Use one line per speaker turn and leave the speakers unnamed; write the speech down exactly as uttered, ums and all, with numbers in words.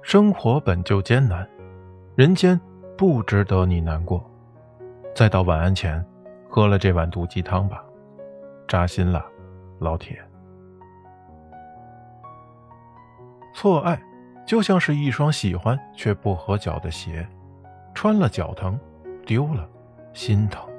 生活本就艰难，人间不值得你难过。再到晚安前，喝了这碗毒鸡汤吧，扎心了，老铁。错爱就像是一双喜欢却不合脚的鞋，穿了脚疼，丢了心疼。